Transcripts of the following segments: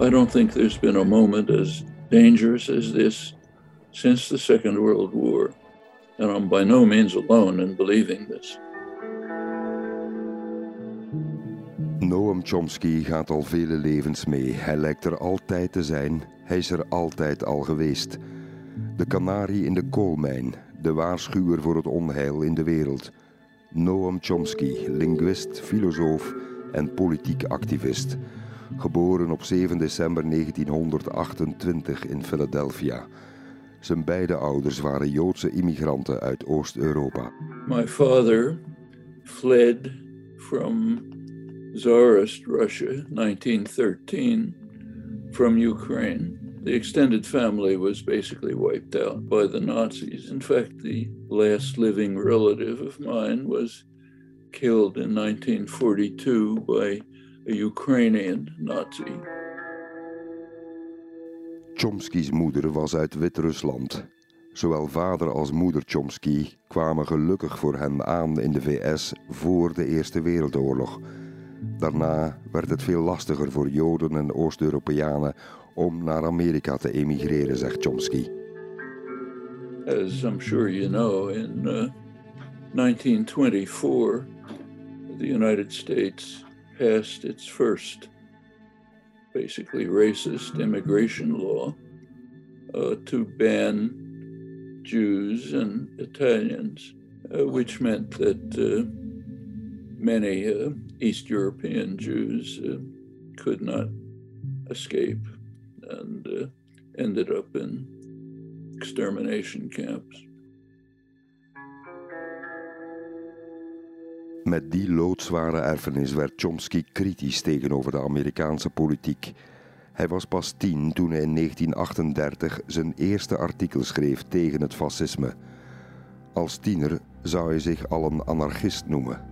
I don't think there's been a moment as dangerous as this since the Second World War. And I'm by no means alone in believing this. Noam Chomsky gaat al vele levens mee. Hij lijkt er altijd te zijn. Hij is er altijd al geweest. De kanarie in de koolmijn. De waarschuwer voor het onheil in de wereld. Noam Chomsky, linguist, filosoof en politiek activist. Geboren op 7 december 1928 in Philadelphia. Zijn beide ouders waren Joodse immigranten uit Oost-Europa. My father fled from Tsarist Russia, 1913, from Ukraine. The extended family was basically wiped out by the Nazis. In fact, the last living relative of mine was killed in 1942 by a Ukrainian Nazi. Chomsky's moeder was uit Wit-Rusland. Zowel vader als moeder Chomsky kwamen gelukkig voor hem aan in de VS voor de Eerste Wereldoorlog. Daarna werd het veel lastiger voor Joden en Oost-Europeanen om naar Amerika te emigreren, zegt Chomsky. As I'm sure you know, in 1924, the United States passed its first basically racist immigration law to ban Jews and Italians, which meant that many East European Jews could not escape and ended up in extermination camps. Met die loodzware erfenis werd Chomsky kritisch tegenover de Amerikaanse politiek. Hij was pas 10 toen hij in 1938 zijn eerste artikel schreef tegen het fascisme. Als tiener zou hij zich al een anarchist noemen.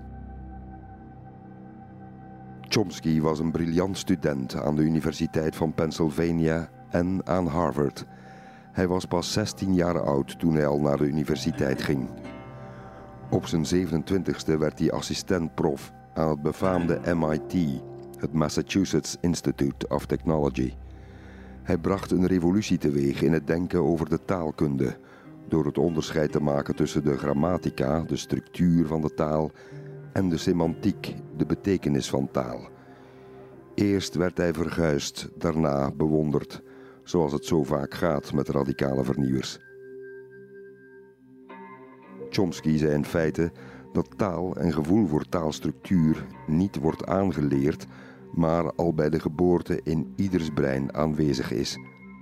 Chomsky was een briljant student aan de Universiteit van Pennsylvania en aan Harvard. Hij was pas 16 jaar oud toen hij al naar de universiteit ging. Op zijn 27e werd hij assistent-prof aan het befaamde MIT, het Massachusetts Institute of Technology. Hij bracht een revolutie teweeg in het denken over de taalkunde, door het onderscheid te maken tussen de grammatica, de structuur van de taal, en de semantiek, de betekenis van taal. Eerst werd hij verguisd, daarna bewonderd, zoals het zo vaak gaat met radicale vernieuwers. Chomsky zei in feite dat taal en gevoel voor taalstructuur niet wordt aangeleerd, maar al bij de geboorte in ieders brein aanwezig is.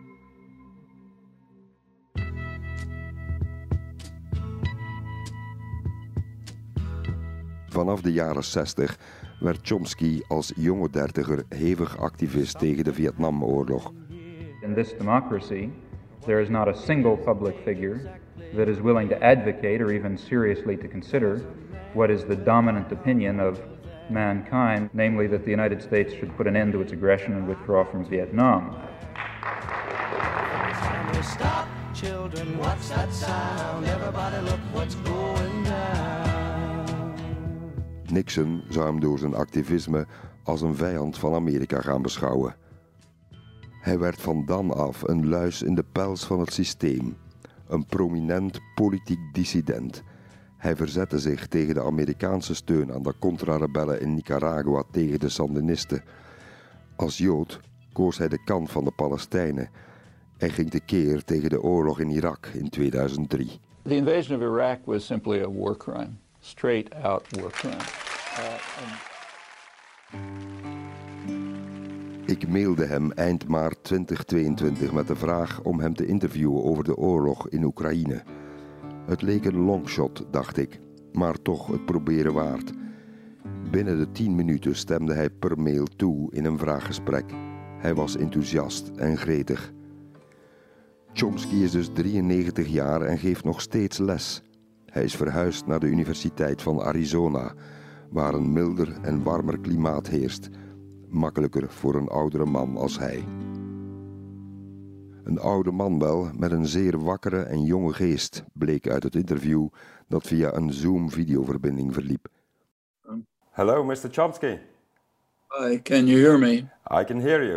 Vanaf de jaren 60 werd Chomsky als jonge dertiger hevig activist tegen de Vietnamoorlog. In this democracy, there is not a single public figure that is willing to advocate or even seriously to consider what is the dominant opinion of mankind, namely that the United States should put an end to its aggression and withdraw from Vietnam. Stop, children, what's that sound? Everybody look what's going down. Nixon zou hem door zijn activisme als een vijand van Amerika gaan beschouwen. Hij werd van dan af een luis in de pels van het systeem, een prominent politiek dissident. Hij verzette zich tegen de Amerikaanse steun aan de contra-rebellen in Nicaragua tegen de Sandinisten. Als Jood koos hij de kant van de Palestijnen en ging tekeer tegen de oorlog in Irak in 2003. The invasion of Iraq was simply a war crime, straight-out war crime. Ik mailde hem eind maart 2022 met de vraag om hem te interviewen over de oorlog in Oekraïne. Het leek een longshot, dacht ik, maar toch het proberen waard. Binnen de 10 minuten stemde hij per mail toe in een vraaggesprek. Hij was enthousiast en gretig. Chomsky is dus 93 jaar en geeft nog steeds les. Hij is verhuisd naar de Universiteit van Arizona, waar een milder en warmer klimaat heerst. Makkelijker voor een oudere man als hij. Een oude man wel, met een zeer wakkere en jonge geest, bleek uit het interview dat via een Zoom-videoverbinding verliep. Hello, Mr. Chomsky. Hi, can you hear me? I can hear you.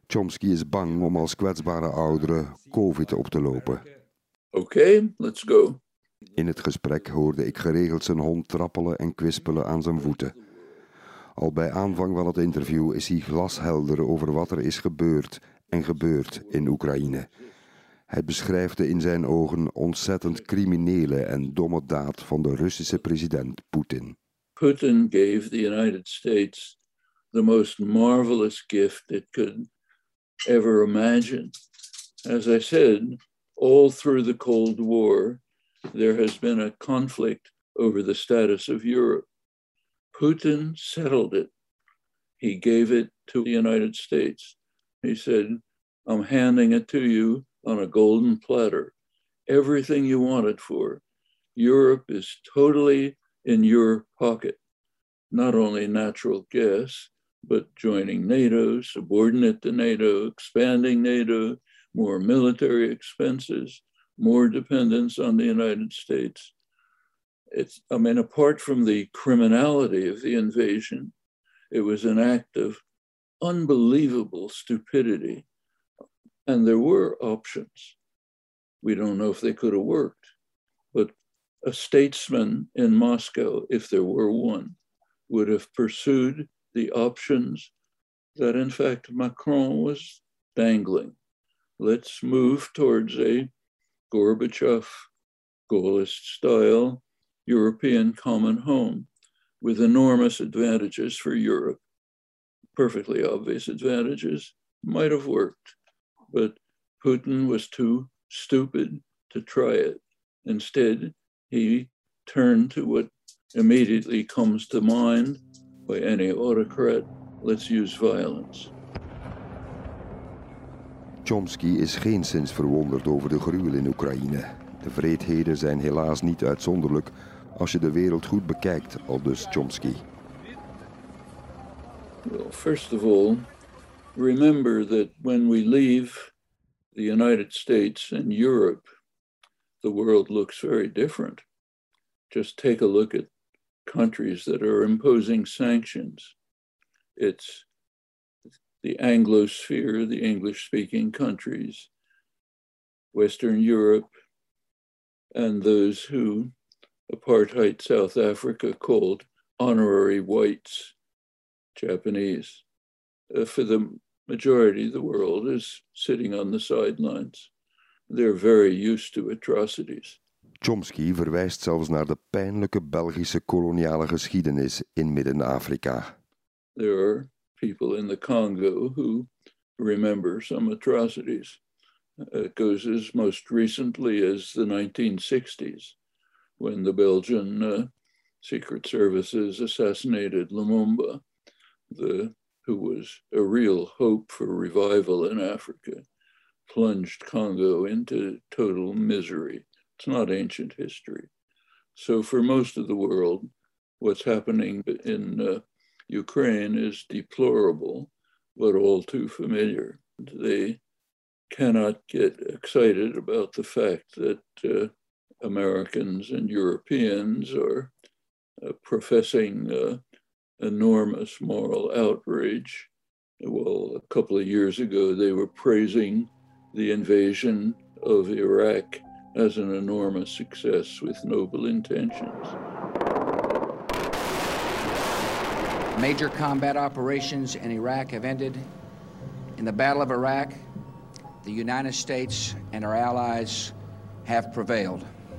Chomsky is bang om als kwetsbare ouderen COVID op te lopen. Okay, let's go. In het gesprek hoorde ik geregeld zijn hond trappelen en kwispelen aan zijn voeten. Al bij aanvang van het interview is hij glashelder over wat er is gebeurd en gebeurt in Oekraïne. Hij beschrijft de in zijn ogen ontzettend criminele en domme daad van de Russische president Poetin. Putin gave the United States the most marvelous gift it could ever imagine. As I said, all through the Cold War, there has been a conflict over the status of Europe. Putin settled it. He gave it to the United States. He said, I'm handing it to you on a golden platter. Everything you want it for. Europe is totally in your pocket. Not only natural gas, but joining NATO, subordinate to NATO, expanding NATO, more military expenses, more dependence on the United States. Apart from the criminality of the invasion, it was an act of unbelievable stupidity. And there were options. We don't know if they could have worked, but a statesman in Moscow, if there were one, would have pursued the options that, in fact, Macron was dangling. Let's move towards a Gorbachev, Gaullist-style European common home with enormous advantages for Europe. Perfectly obvious advantages, might have worked, but Putin was too stupid to try it. Instead, he turned to what immediately comes to mind by any autocrat: let's use violence. Chomsky is geenszins verwonderd over de gruwel in Oekraïne. De wreedheden zijn helaas niet uitzonderlijk als je de wereld goed bekijkt, aldus Chomsky. Well, first of all, remember that when we leave the United States and Europe, the world looks very different. Just take a look at countries that are imposing sanctions. It's the Anglosphere, the English-speaking countries, Western Europe, and those who apartheid South Africa called honorary whites, Japanese. For the majority of the world is sitting on the sidelines. They're very used to atrocities. Chomsky verwijst zelfs naar de pijnlijke Belgische koloniale geschiedenis in Midden-Afrika. There are people in the Congo who remember some atrocities. It goes as most recently as the 1960s, when the Belgian secret services assassinated Lumumba, who was a real hope for revival in Africa, plunged Congo into total misery. It's not ancient history. So for most of the world, what's happening in Ukraine is deplorable, but all too familiar. They cannot get excited about the fact that Americans and Europeans are professing enormous moral outrage. Well, a couple of years ago, they were praising the invasion of Iraq as an enormous success with noble intentions. Major combat operations in Iraq have ended. In the Battle of Iraq, the United States and our allies have prevailed.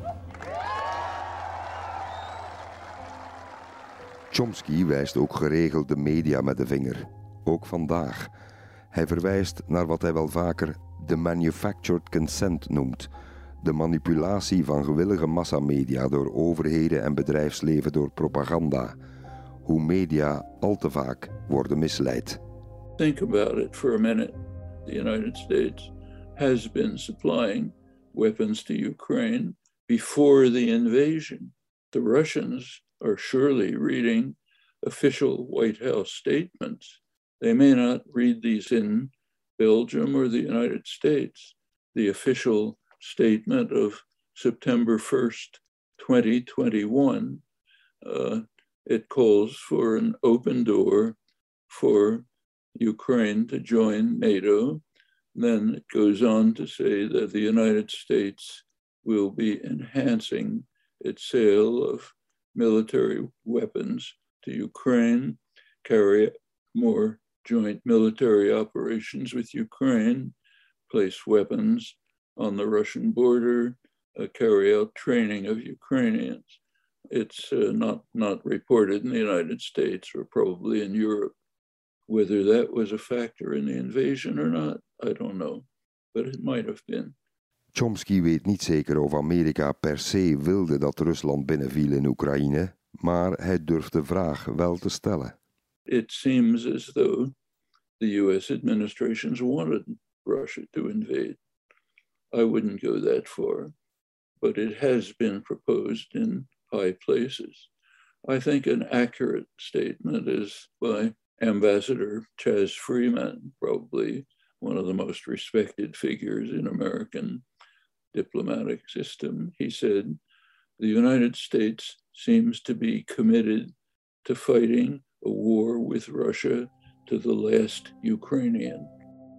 Chomsky wijst ook geregeld de media met de vinger. Ook vandaag. Hij verwijst naar wat hij wel vaker de manufactured consent noemt. De manipulatie van gewillige massamedia door overheden en bedrijfsleven door propaganda. Hoe media al te vaak worden misleid. Think about it for a minute. The United States has been supplying weapons to Ukraine before the invasion. The Russians are surely reading official White House statements. They may not read these in Belgium or the United States. The official statement of September 1st, 2021, it calls for an open door for Ukraine to join NATO. Then it goes on to say that the United States will be enhancing its sale of military weapons to Ukraine, carry more joint military operations with Ukraine, place weapons on the Russian border, carry out training of Ukrainians. It's not reported in the United States or probably in Europe. Whether that was a factor in the invasion or not, I don't know, but it might have been. Chomsky weet niet zeker of Amerika per se wilde dat Rusland binnenviel in Oekraïne, maar hij durft de vraag wel te stellen. It seems as though the US administrations wanted Russia to invade. I wouldn't go that far, but it has been proposed in high places. I think an accurate statement is by Ambassador Chas Freeman, probably one of the most respected figures in American diplomatic system. He said, the United States seems to be committed to fighting a war with Russia to the last Ukrainian.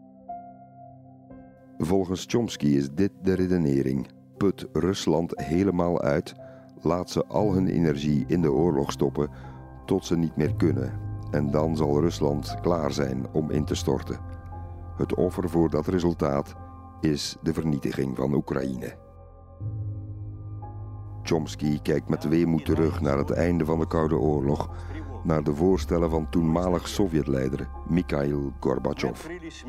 Volgens Chomsky is dit de redenering. Put Rusland helemaal uit, laat ze al hun energie in de oorlog stoppen tot ze niet meer kunnen. En dan zal Rusland klaar zijn om in te storten. Het offer voor dat resultaat is de vernietiging van Oekraïne. Chomsky kijkt met weemoed terug naar het einde van de Koude Oorlog, naar de voorstellen van toenmalig Sovjetleider Mikhail Gorbachev.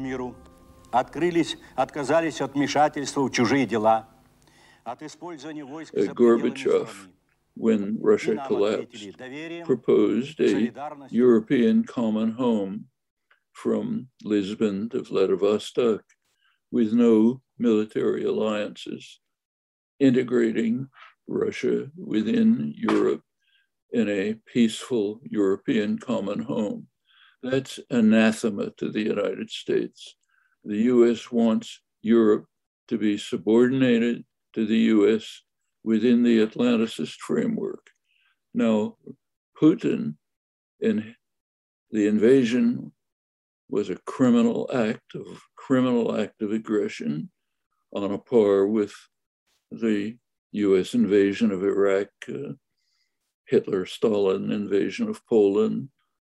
Gorbachev, when Russia collapsed, proposed a European common home from Lisbon to Vladivostok with no military alliances, integrating Russia within Europe in a peaceful European common home. That's anathema to the United States. The US wants Europe to be subordinated to the US within the Atlanticist framework. Now, Putin, in the invasion, was a criminal act of aggression on a par with the US invasion of Iraq, Hitler-Stalin invasion of Poland,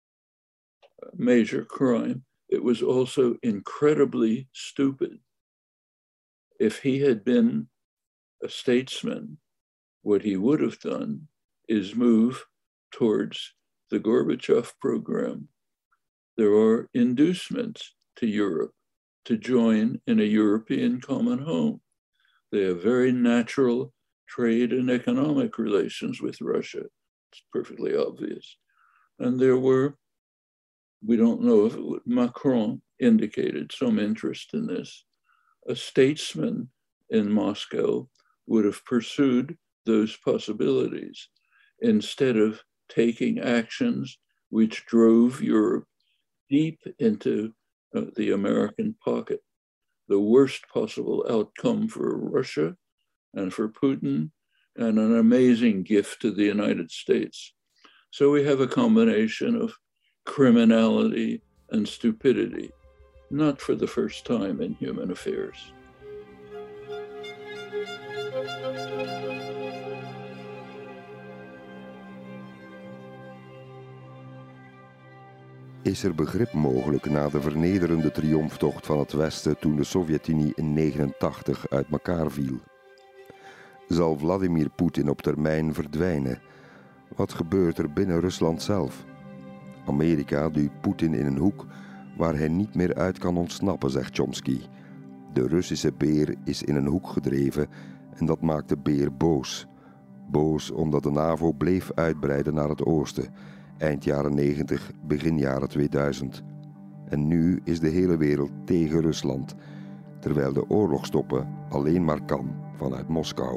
major crime. It was also incredibly stupid. If he had been a statesman, what he would have done is move towards the Gorbachev program. There are inducements to Europe to join in a European common home. They have very natural trade and economic relations with Russia. It's perfectly obvious. And there were, we don't know if Macron indicated some interest in this. A statesman in Moscow would have pursued those possibilities instead of taking actions which drove Europe deep into the American pocket. The worst possible outcome for Russia and for Putin, and an amazing gift to the United States. So we have a combination of criminality and stupidity, not for the first time in human affairs. Is er begrip mogelijk na de vernederende triomftocht van het Westen toen de Sovjet-Unie in 1989 uit elkaar viel? Zal Vladimir Poetin op termijn verdwijnen? Wat gebeurt er binnen Rusland zelf? Amerika duwt Poetin in een hoek waar hij niet meer uit kan ontsnappen, zegt Chomsky. De Russische beer is in een hoek gedreven en dat maakt de beer boos. Boos omdat de NAVO bleef uitbreiden naar het oosten, eind jaren 90, begin jaren 2000. En nu is de hele wereld tegen Rusland, terwijl de oorlog stoppen alleen maar kan vanuit Moskou.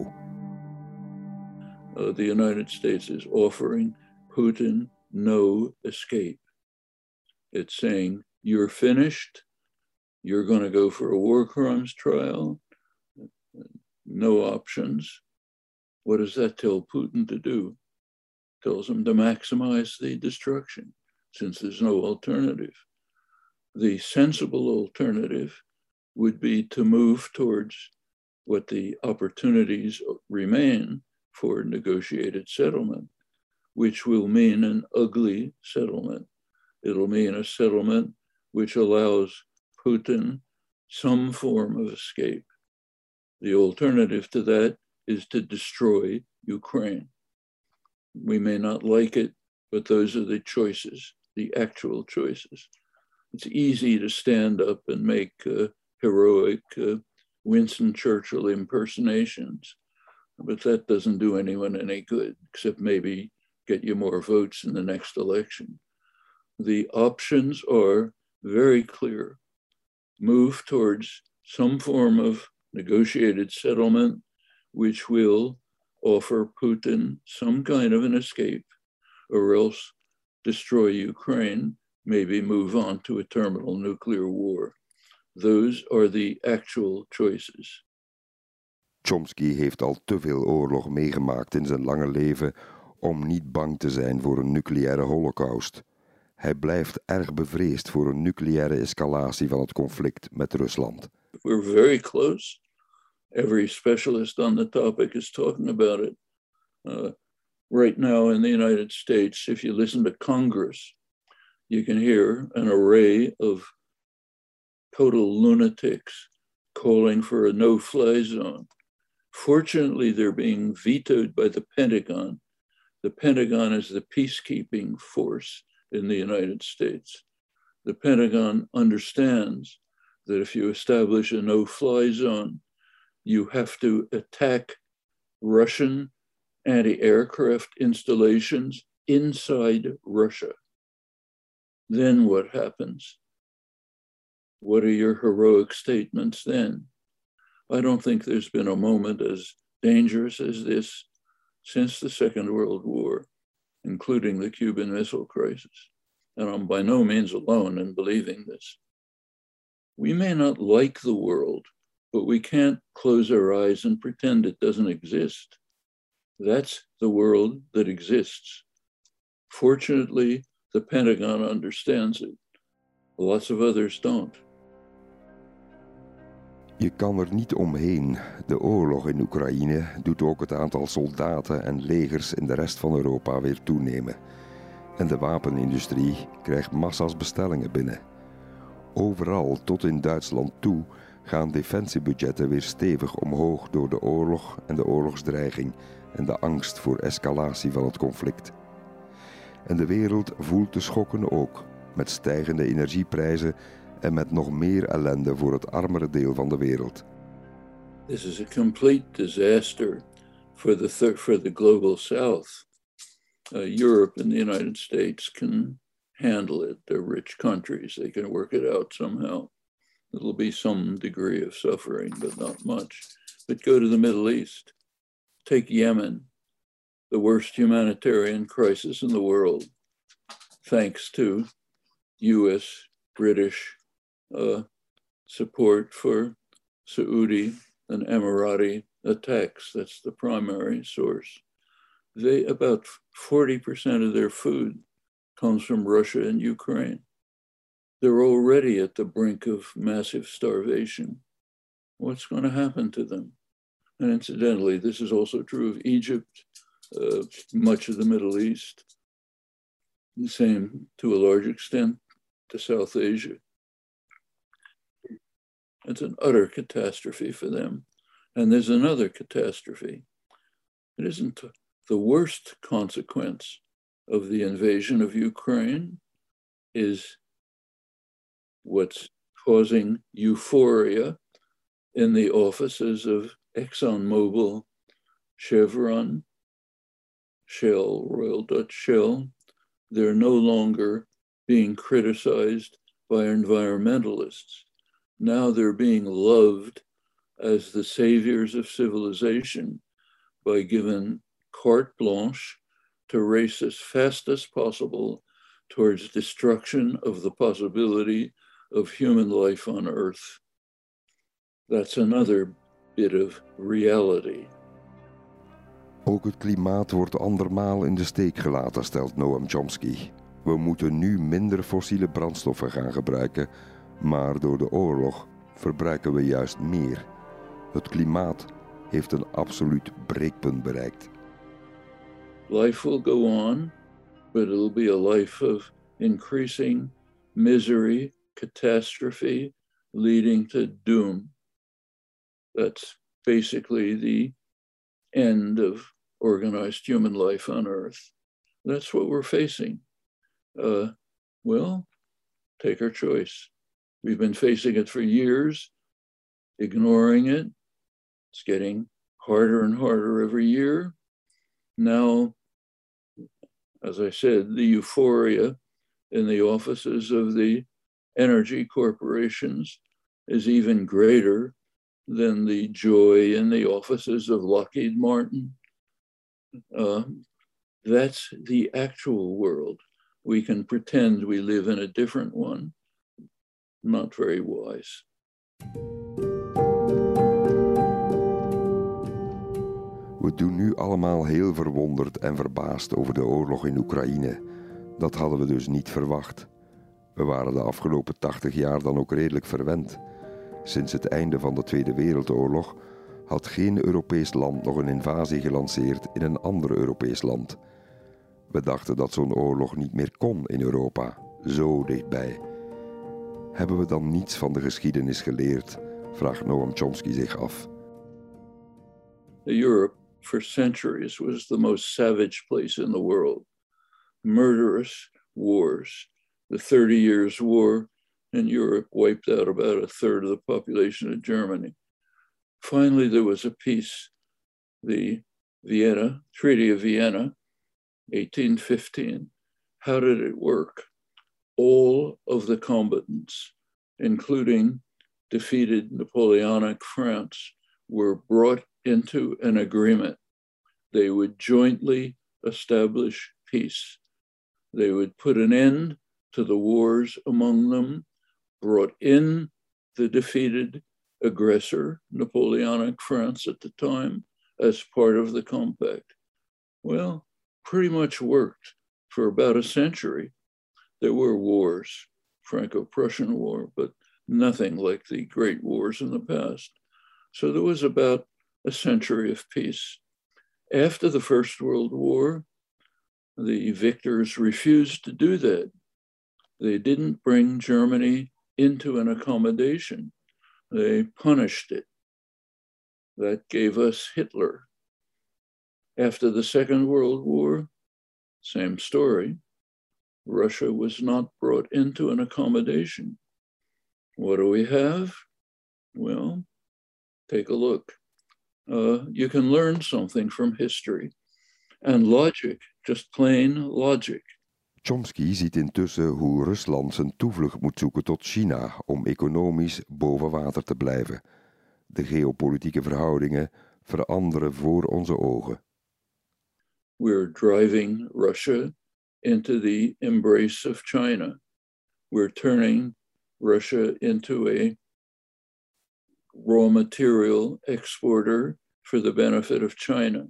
The United States is offering Putin no escape. It's saying, you're finished, you're going to go for a war crimes trial, no options. What does that tell Putin to do? Tells him to maximize the destruction, since there's no alternative. The sensible alternative would be to move towards what the opportunities remain for negotiated settlement, which will mean an ugly settlement. It'll mean a settlement which allows Putin some form of escape. The alternative to that is to destroy Ukraine. We may not like it, but those are the choices, the actual choices. It's easy to stand up and make heroic Winston Churchill impersonations, but that doesn't do anyone any good, except maybe get you more votes in the next election. The options are very clear. Move towards some form of negotiated settlement, which will offer Putin some kind of an escape, or else destroy Ukraine, maybe move on to a terminal nuclear war. Those are the actual choices. Chomsky heeft al te veel oorlog meegemaakt in zijn lange leven om niet bang te zijn voor een nucleaire holocaust. Hij blijft erg bevreesd voor een nucleaire escalatie van het conflict met Rusland. We're very close. Every specialist on the topic is talking about it. Right now in the United States, if you listen to Congress, you can hear an array of total lunatics calling for a no-fly zone. Fortunately, they're being vetoed by the Pentagon. The Pentagon is the peacekeeping force in the United States. The Pentagon understands that if you establish a no-fly zone, you have to attack Russian anti-aircraft installations inside Russia. Then what happens? What are your heroic statements then? I don't think there's been a moment as dangerous as this since the Second World War, including the Cuban Missile Crisis. And I'm by no means alone in believing this. We may not like the world, but we can't close our eyes and pretend it doesn't exist. That's the world that exists. Fortunately, the Pentagon understands it. Lots of others don't. Je kan er niet omheen. De oorlog in Oekraïne doet ook het aantal soldaten en legers in de rest van Europa weer toenemen. En de wapenindustrie krijgt massa's bestellingen binnen. Overal, tot in Duitsland toe, gaan defensiebudgetten weer stevig omhoog door de oorlog en de oorlogsdreiging en de angst voor escalatie van het conflict. En de wereld voelt de schokken ook, met stijgende energieprijzen en met nog meer ellende voor het armere deel van de wereld. This is a complete disaster for the global South. Europe and the United States can handle it. They're rich countries. They can work it out somehow. There'll be some degree of suffering, but not much. But go to the Middle East. Take Yemen, the worst humanitarian crisis in the world, thanks to US, British support for Saudi and Emirati attacks. That's the primary source. About 40% of their food comes from Russia and Ukraine. They're already at the brink of massive starvation. What's going to happen to them? And incidentally, this is also true of Egypt, much of the Middle East, the same to a large extent to South Asia. It's an utter catastrophe for them. And there's another catastrophe. It isn't the worst consequence of the invasion of Ukraine is what's causing euphoria in the offices of ExxonMobil, Chevron, Shell, Royal Dutch Shell. They're no longer being criticized by environmentalists. Now they're being loved as the saviors of civilization by given carte blanche to race as fast as possible towards destruction of the possibility of human life on Earth. That's another bit of reality. Ook het klimaat wordt andermaal in de steek gelaten, stelt Noam Chomsky. We moeten nu minder fossiele brandstoffen gaan gebruiken, maar door de oorlog verbruiken we juist meer. Het klimaat heeft een absoluut breekpunt bereikt. Life will go on, but it'll be a life of increasing misery, catastrophe, leading to doom. That's basically the end of organized human life on Earth. That's what we're facing. Well, take our choice. We've been facing it for years, ignoring it. It's getting harder and harder every year. Now, as I said, the euphoria in the offices of the energy corporations is even greater than the joy in the offices of Lockheed Martin. That's the actual world. We can pretend we live in a different one. Not very wise. We doen nu allemaal heel verwonderd en verbaasd over de oorlog in Oekraïne. Dat hadden we dus niet verwacht. We waren de afgelopen 80 jaar dan ook redelijk verwend. Sinds het einde van de Tweede Wereldoorlog had geen Europees land nog een invasie gelanceerd in een ander Europees land. We dachten dat zo'n oorlog niet meer kon in Europa, zo dichtbij. Hebben we dan niets van de geschiedenis geleerd? Vraagt Noam Chomsky zich af. Europe for centuries was the most savage place in the world. Murderous wars. The 30 Years' War in Europe wiped out about a third of the population of Germany. Finally, there was a peace, the Treaty of Vienna, 1815. How did it work? All of the combatants, including defeated Napoleonic France, were brought into an agreement. They would jointly establish peace. They would put an end to the wars among them, brought in the defeated aggressor, Napoleonic France at the time, as part of the compact. Well, pretty much worked for about a century. There were wars, Franco-Prussian War, but nothing like the great wars in the past. So there was about a century of peace. After the First World War, the victors refused to do that. They didn't bring Germany into an accommodation. They punished it. That gave us Hitler. After the Second World War, same story. Russia was not brought into an accommodation. What do we have? Well, take a look. You can learn something from history. And logic, just plain logic. Chomsky ziet intussen hoe Rusland zijn toevlucht moet zoeken tot China om economisch boven water te blijven. De geopolitieke verhoudingen veranderen voor onze ogen. We're driving Russia into the embrace of China. We're turning Russia into a raw material exporter for the benefit of China.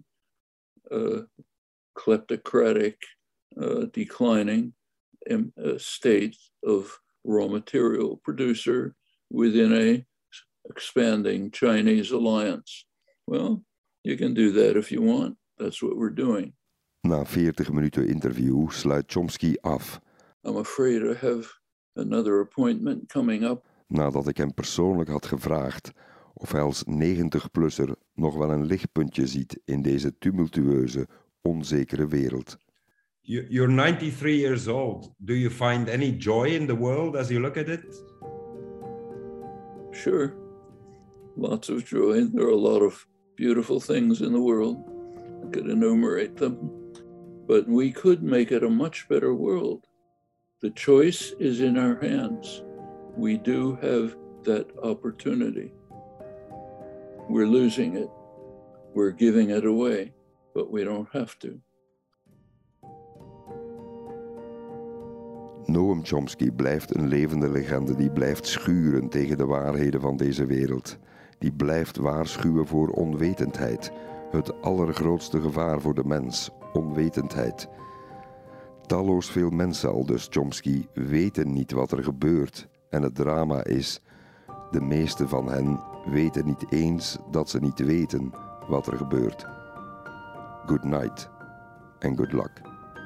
Kleptocratic, declining state of raw material producer within a expanding Chinese alliance. Well, you can do that if you want. That's what we're doing. Na 40 minuten interview sluit Chomsky af. I'm afraid I have another appointment coming up. Nadat ik hem persoonlijk had gevraagd of hij als 90-plusser nog wel een lichtpuntje ziet in deze tumultueuze, onzekere wereld. You're 93 years old. Do you find any joy in the world as you look at it? Sure. Lots of joy. There are a lot of beautiful things in the world. I could enumerate them. But we could make it a much better world. The choice is in our hands. We do have that opportunity. We're losing it. We're giving it away, but we don't have to. Noam Chomsky blijft een levende legende die blijft schuren tegen de waarheden van deze wereld. Die blijft waarschuwen voor onwetendheid. Het allergrootste gevaar voor de mens, onwetendheid. Talloos veel mensen, aldus Chomsky, weten niet wat er gebeurt. En het drama is, de meeste van hen weten niet eens dat ze niet weten wat er gebeurt. Good night and good luck.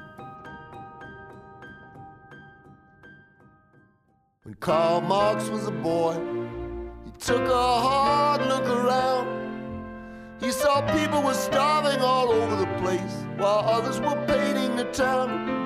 When Karl Marx was a boy, he took a hard look around. He saw people were starving all over the place, while others were painting the town.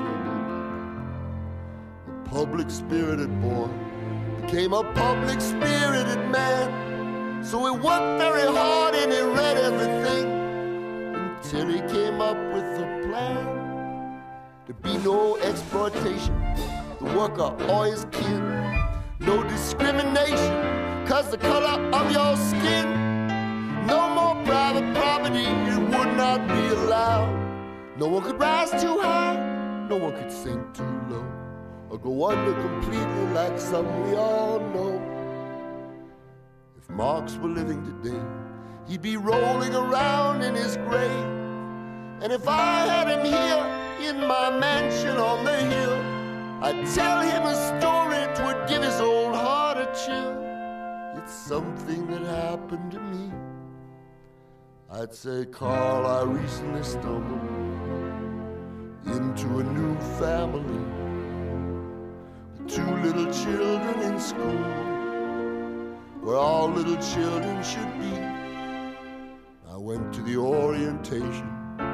A public-spirited boy became a public-spirited man. So he worked very hard and he read everything until he came up with a plan. To be no exploitation, the worker or his kin. No discrimination, 'cause the color of your skin. No more private property, it would not be allowed. No one could rise too high, no one could sink too low, or go under completely like some we all know. If Marx were living today, he'd be rolling around in his grave. And if I had him here in my mansion on the hill, I'd tell him a story, 'twould give his old heart a chill. It's something that happened to me. I'd say, Carl, I recently stumbled into a new family with 2 little children in school, where all little children should be. I went to the orientation.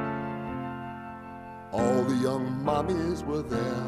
All the young mommies were there.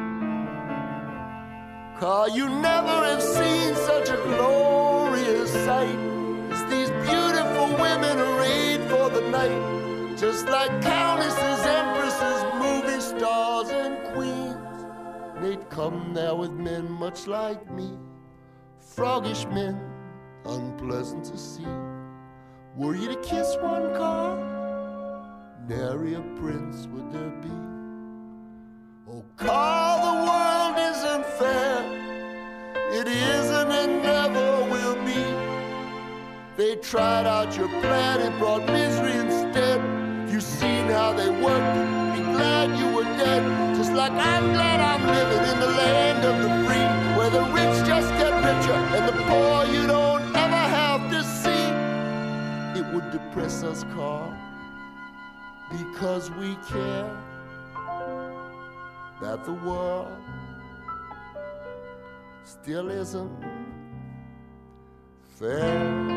Carl, you never have seen such a glorious sight as these beautiful women arrayed for the night, just like countesses, empresses, movie stars, and queens. They'd come there with men much like me, froggish men, unpleasant to see. Were you to kiss one, Carl? Nary a prince would there be. Oh, Carl, the world isn't fair. It isn't and never will be. They tried out your plan, it brought misery instead. You seen how they worked, be glad you were dead. Just like I'm glad I'm living in the land of the free, where the rich just get richer and the poor you don't ever have to see. It would depress us, Carl, because we care that the world still isn't fair.